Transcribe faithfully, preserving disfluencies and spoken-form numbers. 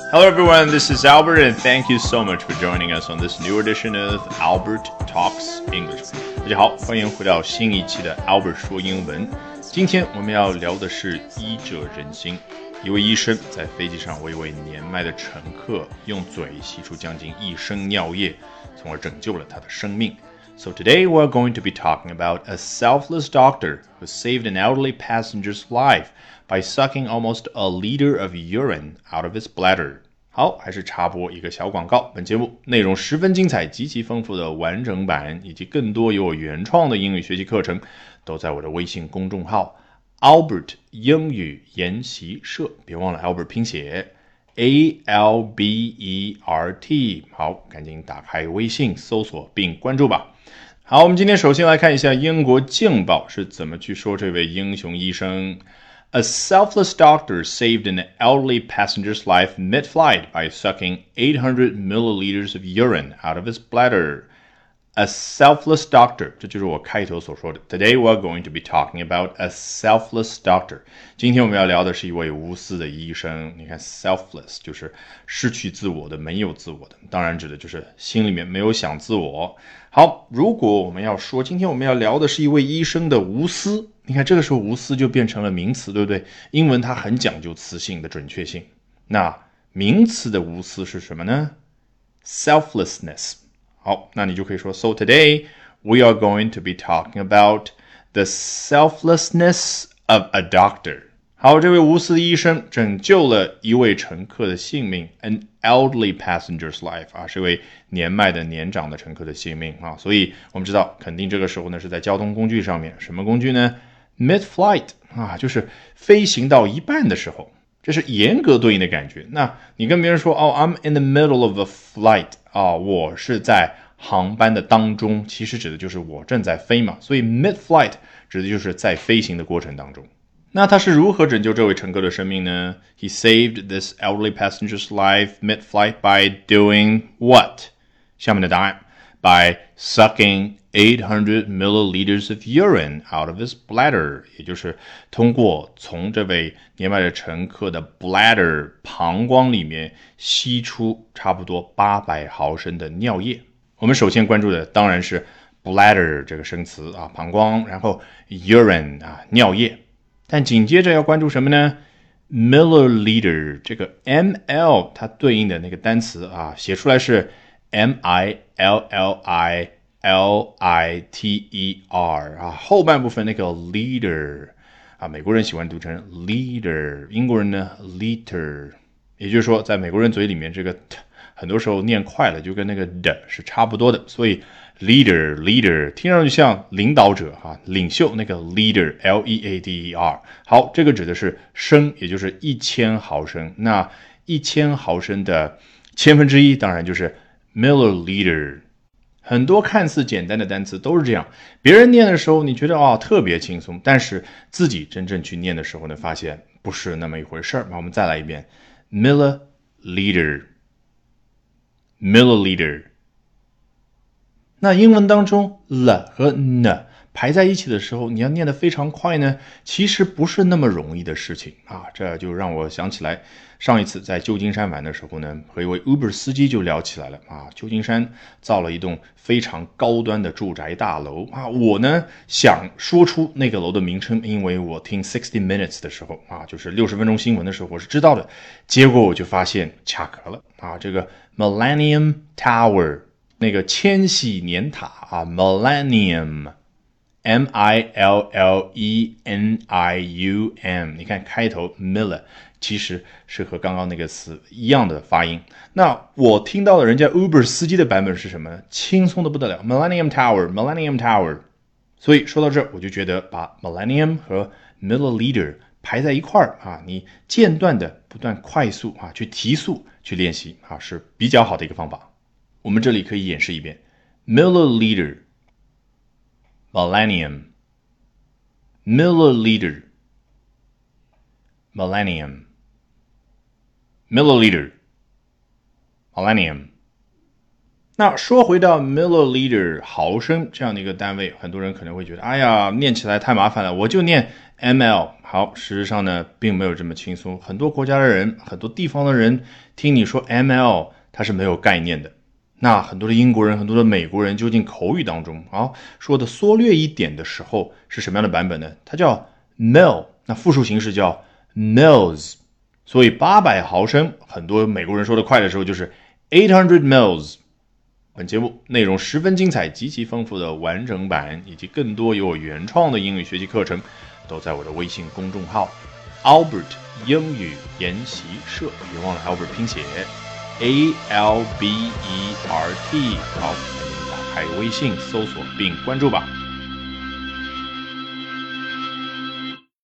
Hello everyone, this is Albert and thank you so much for joining us on this new edition of Albert Talks English. 大家好，欢迎回到新一期的 Albert 说英文。今天我们要聊的是医者仁心。一位医生在飞机上为一位年迈的乘客用嘴吸出将近一升尿液，从而拯救了他的生命。So today we're going to be talking about a selfless doctor who saved an elderly passenger's life by sucking almost a liter of urine out of his bladder. 好，还是插播一个小广告。本节目内容十分精彩，极其丰富的完整版以及更多由我原创的英语学习课程，都在我的微信公众号 Albert 英语研习社。别忘了 Albert 拼写 A L B E R T。好，赶紧打开微信搜索并关注吧。好，我们今天首先来看一下英国镜报是怎么去说这位英雄医生。A selfless doctor saved an elderly passenger's life mid-flight by sucking eight hundred milliliters of urine out of his bladder. A selfless doctor, 这就是我开头所说的。Today we're going to be talking about a selfless doctor. 今天我们要聊的是一位无私的医生。你看 selfless 就是失去自我的，没有自我的，当然指的就是心里面没有想自我。好，如果我们要说今天我们要聊的是一位医生的无私，你看这个时候无私就变成了名词，对不对？英文它很讲究词性的准确性。那名词的无私是什么呢？ Selflessness。好，那你就可以说 So today we are going to be talking about the selflessness of a doctor. 好，这位无私的医生拯救了一位乘客的性命 An elderly passenger's life 啊，是一位年迈的年长的乘客的性命啊，所以我们知道肯定这个时候呢是在交通工具上面，什么工具呢？ Mid-flight 啊，就是飞行到一半的时候，这是严格对应的感觉。那你跟别人说哦 I'm in the middle of a flight 啊，我是在航班的当中，其实指的就是我正在飞嘛，所以 mid-flight 指的就是在飞行的过程当中。那他是如何拯救这位乘客的生命呢？ He saved this elderly passenger's life mid-flight by doing what? 下面的答案 By sucking eight hundred milliliters of urine out of his bladder, 也就是通过从这位年迈的乘客的 bladder 膀胱里面吸出差不多八百毫升的尿液。我们首先关注的当然是 bladder 这个生词啊，膀胱，然后 urine 啊，尿液。但紧接着要关注什么呢？ milliliter 这个 ml 它对应的那个单词啊，写出来是 M I L L I L I T E R 啊，后半部分那个 liter 啊，美国人喜欢读成 liter， 英国人呢 liter， 也就是说在美国人嘴里面这个 t 很多时候念快了就跟那个的是差不多的，所以 leader leader 听上去像领导者啊，领袖那个 leader L E A D E R。 好，这个指的是升，也就是一千毫升，那一千毫升的千分之一当然就是 milliliter。 很多看似简单的单词都是这样，别人念的时候你觉得哦特别轻松，但是自己真正去念的时候呢，发现不是那么一回事儿。那我们再来一遍 milliliter milliliter。 那英文当中 了 和 呢 排在一起的时候，你要念得非常快呢，其实不是那么容易的事情啊。这就让我想起来上一次在旧金山玩的时候呢，和一位 Uber 司机就聊起来了啊。旧金山造了一栋非常高端的住宅大楼啊，我呢想说出那个楼的名称，因为我听sixty minutes 的时候啊，就是六十分钟新闻的时候我是知道的，结果我就发现卡壳了啊。这个 Millennium Tower 那个千禧年塔啊 Millennium M I L L E N I U M， 你看开头 Miller 其实是和刚刚那个词一样的发音。那我听到的人家 Uber 司机的版本是什么呢？轻松的不得了 Millennium Tower Millennium Tower。 所以说到这我就觉得把 Millennium 和 Milliliter 排在一块儿啊，你间断的不断快速啊去提速去练习啊，是比较好的一个方法。我们这里可以演示一遍 Milliliter Millennium Milliliter Millennium Milliliter Millennium。 那说回到 milliliter 毫升这样的一个单位，很多人可能会觉得，哎呀，念起来太麻烦了，我就念 ml。好，事实上呢，并没有这么轻松。很多国家的人，很多地方的人，听你说 ml， 他是没有概念的。那很多的英国人，很多的美国人，究竟口语当中啊说的缩略一点的时候是什么样的版本呢？它叫 mil， 那复数形式叫 mils。所以八百毫升，很多美国人说的快的时候就是eight hundred mils。本节目内容十分精彩，极其丰富的完整版以及更多有我原创的英语学习课程，都在我的微信公众号 Albert 英语研习社。别忘了 Albert 拼写 A L B E R T。好，打开微信搜索并关注吧。